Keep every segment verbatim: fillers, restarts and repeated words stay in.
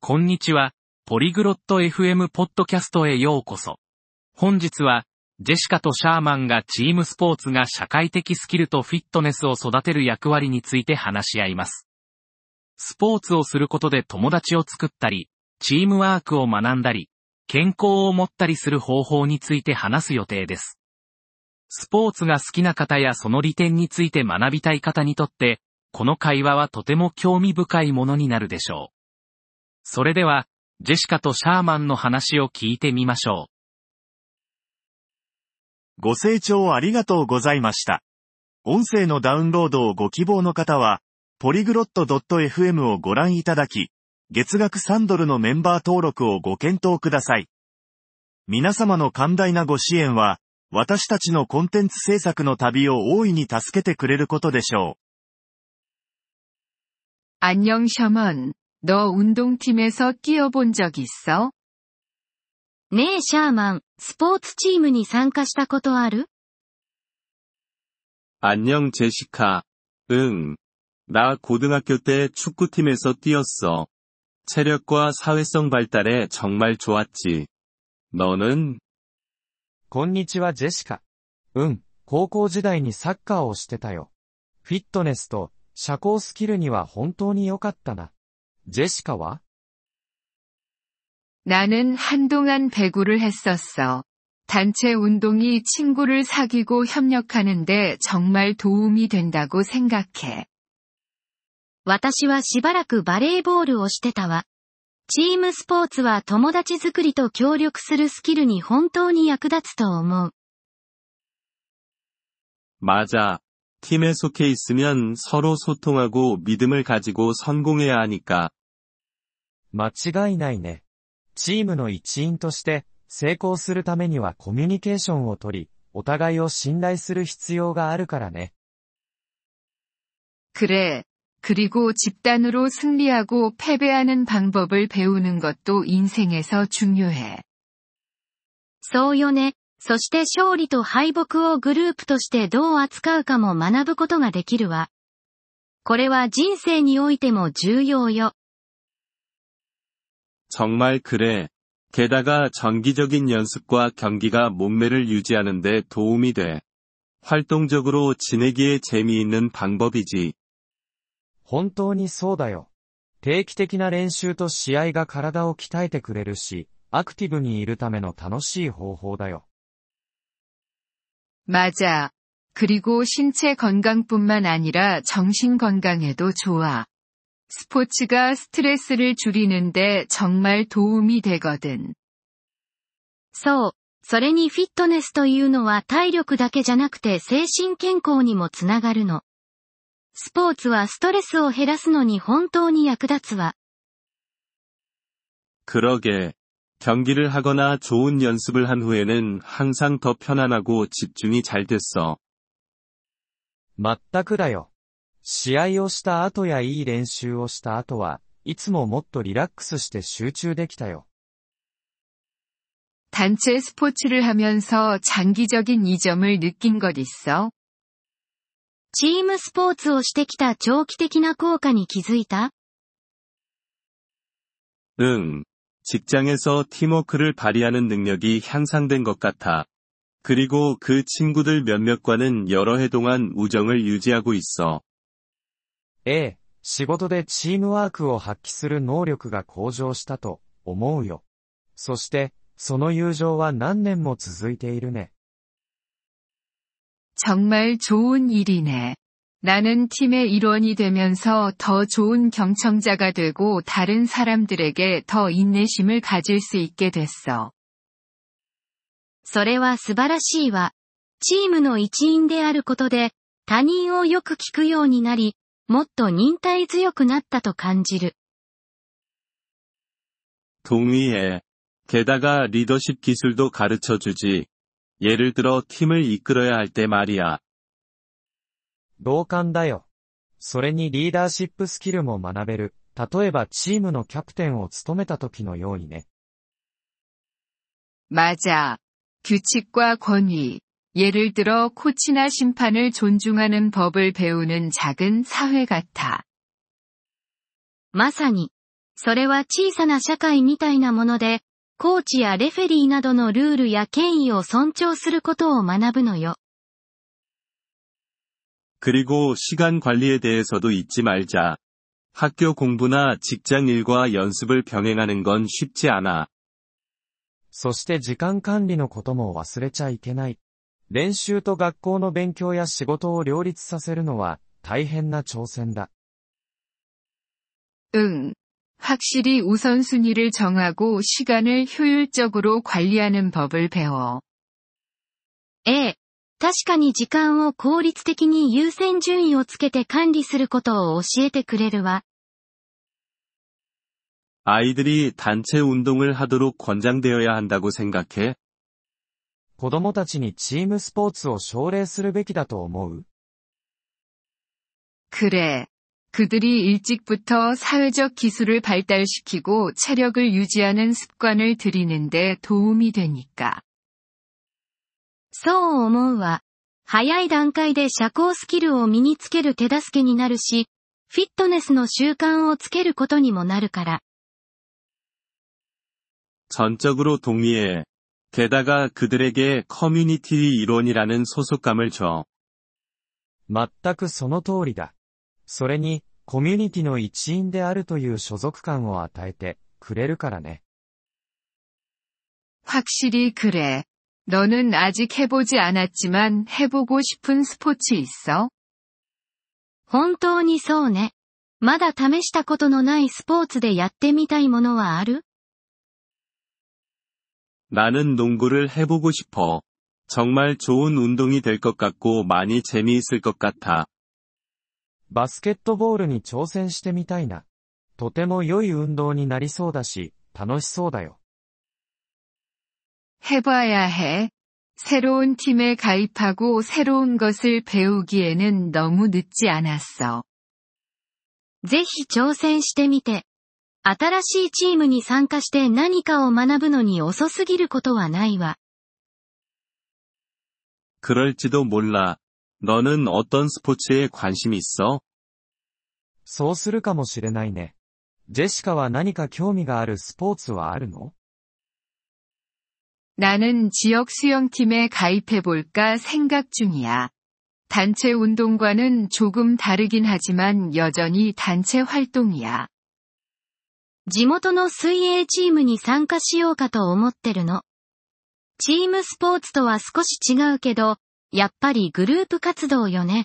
こんにちは、ポリグロット エフエム ポッドキャストへようこそ。本日は、ジェシカとシャーマンがチームスポーツが社会的スキルとフィットネスを育てる役割について話し合います。スポーツをすることで友達を作ったり、チームワークを学んだり、健康を持ったりする方法について話す予定です。スポーツが好きな方やその利点について学びたい方にとって、この会話はとても興味深いものになるでしょう。それでは、ジェシカとシャーマンの話を聞いてみましょう。ご清聴ありがとうございました。音声のダウンロードをご希望の方は、ポリグロット エフエム をご覧いただき、月額さんドルのメンバー登録をご検討ください。皆様の寛大なご支援は、私たちのコンテンツ制作の旅を大いに助けてくれることでしょう。안녕 샤먼. 너 운동팀에서 끼어본 적 있어? ねえシャーマン、スポーツチームに参加したことある？ 안녕 제시카. 응. 나 고등학교 때 축구팀에서 뛰었어. 체력과 사회성 발달에 정말 좋았지. 너는? こんにちはジェシカ。うん、高校時代にサッカーをしてたよ。フィットネスと社交スキルには本当に良かったな。ジェシカは？ 나는 한동안 배구를 했었어. 단체 운동이 친구를 사귀고 협력하는데 정말 도움이 된다고 생각해. 私はしばらくバレーボールをしてたわ。チームスポーツは友達作りと協力するスキルに本当に役立つと思う。 맞아. 팀에 속해 있으면 서로 소통하고 믿음을 가지고 성공해야 하니까. 間違いないね。チームの一員として成功するためにはコミュニケーションをとり、お互いを信頼する必要があるからね。 그래. 그리고 집단으로 승리하고 패배하는 방법을 배우는 것도 인생에서 중요해. そうよね。そして勝利と敗北をグループとしてどう扱うかも学ぶことができるわ。これは人生においても重要よ。 정말 그래. 게다가 정기적인 연습과 경기가 몸매를 유지하는 데 도움이 돼. 활동적으로 지내기에 재미있는 방법이지. 本当にそうだよ。定期的な練習と試合が体を鍛えてくれるし、アクティブにいるための楽しい方法だよ。 맞아. 그리고 신체 건강뿐만 아니라 정신 건강에도 좋아. 스포츠가 스트레스를 줄이는데 정말 도움이 되거든. そう。それにフィットネスというのは体力だけじゃなくて精神健康にもつながるの。スポーツはストレスを減らすのに本当に役立つわ。 그러게. 경기를 하거나 좋은 연습을 한 후에는 항상 더 편안하고 집중이 잘 됐어. まったくだよ。試合をした後やいい練習をした後はいつももっとリラックスして集中できたよ。 단체 스포츠를 하면서 장기적인 이점을 느낀 것 있어? チームスポーツをしてきた長期的な効果に気づいた？ 응. 직장에서 팀워크를 발휘하는 능력이 향상된 것 같아. 그리고 그 친구들 몇몇과는 여러 해 동안 우정을 유지하고 있어. ええ、仕事でチームワークを発揮する能力が向上したと思うよ。そして、その友情は何年も続いているね。 정말 좋은 일이네. 나는 팀의 일원이 되면서 더 좋은 경청자가 되고 다른 사람들에게 더 인내심을 가질 수 있게 됐어. それは素晴らしいわ。チームの一員であることで、他人をよく聞くようになり、もっと忍耐強くなったと感じる。 동의해. 게다가 리더십 기술도 가르쳐주지. 예를 들어 팀을 이끌어야 할 때 말이야. 同感だよ。それにリーダーシップスキルも学べる。例えばチームのキャプテンを務めた時のようにね。 맞아. 규칙과 권위. 예를 들어 코치나 심판을 존중하는 법을 배우는 작은 사회 같아. まさに。 それは小さな社会みたいなもので、コーチやレフェリーなどのルールや権威を尊重することを学ぶのよ。 그리고 시간 관리에 대해서도 잊지 말자. 학교 공부나 직장 일과 연습을 병행하는 건 쉽지 않아. そして時間管理のことも忘れちゃいけない。練習と学校の勉強や仕事を両立させるのは大変な挑戦だ。 응. 확실히 우선순위를 정하고 시간을 효율적으로 관리하는 법을 배워. ええ。確かに時間を効率的に優先順位をつけて管理することを教えてくれるわ。 아이들이 단체 운동을 하도록 권장되어야 한다고 생각해? 子供たちにチームスポーツを奨励するべきだと思う？ 그래. 그들이 일찍부터 사회적 기술을 발달시키고 체력을 유지하는 습관을 들이는데 도움이 되니까. そう思うわ。早い段階で社交スキルを身につける手助けになるし、フィットネスの習慣をつけることにもなるから。 전적으로 동의해. 게다가 그들에게 커뮤니티 일원이라는 소속감을 줘. 全くその通りだ。それに、コミュニティの一員であるという所属感を与えてくれるからね。 확실히 그래. 너는 아직 해보지 않았지만 해보고 싶은 스포츠 있어? 本当にそうね。まだ試したことのないスポーツでやってみたいものはある？ 나는 농구를 해보고 싶어. 정말 좋은 운동이 될 것 같고 많이 재미있을 것 같아. バスケットボールに挑戦してみたいな。とても良い運動になりそうだし、楽しそうだよ。 해봐야 해. 새로운 팀에 가입하고 새로운 것을 배우기에는 너무 늦지 않았어. ぜひ挑戦してみて。新しいチームに参加して何かを学ぶのに遅すぎることはないわ。 그럴지도 몰라. 너는 어떤 스포츠에 관심 있어? そうするかもしれないね。ジェシカは何か興味があるスポーツはあるの？ 나는 지역 수영팀에 가입해볼까 생각 중이야. 단체 운동과는 조금 다르긴 하지만 여전히 단체 활동이야. 地元の水泳チームに参加しようかと思ってるの。チームスポーツとは少し違うけど、やっぱりグループ活動よね。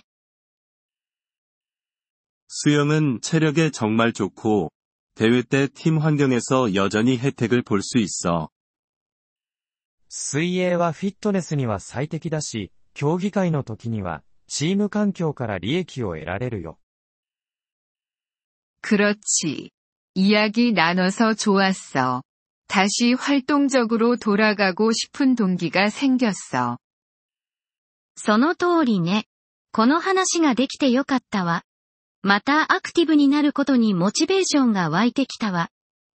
수영은 체력에 정말 좋고, 대회 때 팀 환경에서 여전히 혜택을 볼 수 있어. 水泳はフィットネスには最適だし、競技会の時には、チーム環境から利益を得られるよ。 그렇지. 이야기 나눠서 좋았어. 다시 활동적으로 돌아가고 싶은 동기가 생겼어. その通りね。この話ができてよかったわ。またアクティブになることにモチベーションが湧いてきたわ。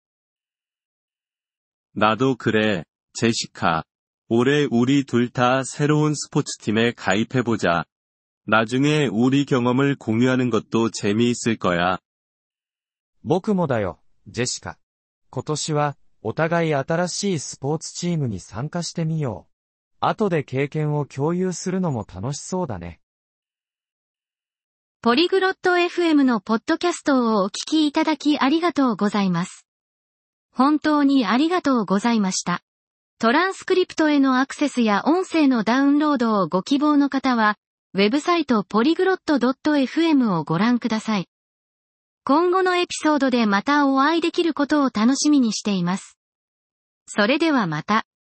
나도 그래, 제시카. 올해 우리 둘 다 새로운 스포츠팀에 가입해보자. 나중에 우리 경험을 공유하는 것도 재미있을 거야. 僕もだよ、ジェシカ。今年は、お互い新しいスポーツチームに参加してみよう。後で経験を共有するのも楽しそうだね。 ポリグロット エフエム のポッドキャストをお聞きいただきありがとうございます。本当にありがとうございました。トランスクリプトへのアクセスや音声のダウンロードをご希望の方は、ウェブサイト ポリグロット ドット エフエム をご覧ください。今後のエピソードでまたお会いできることを楽しみにしています。それではまた。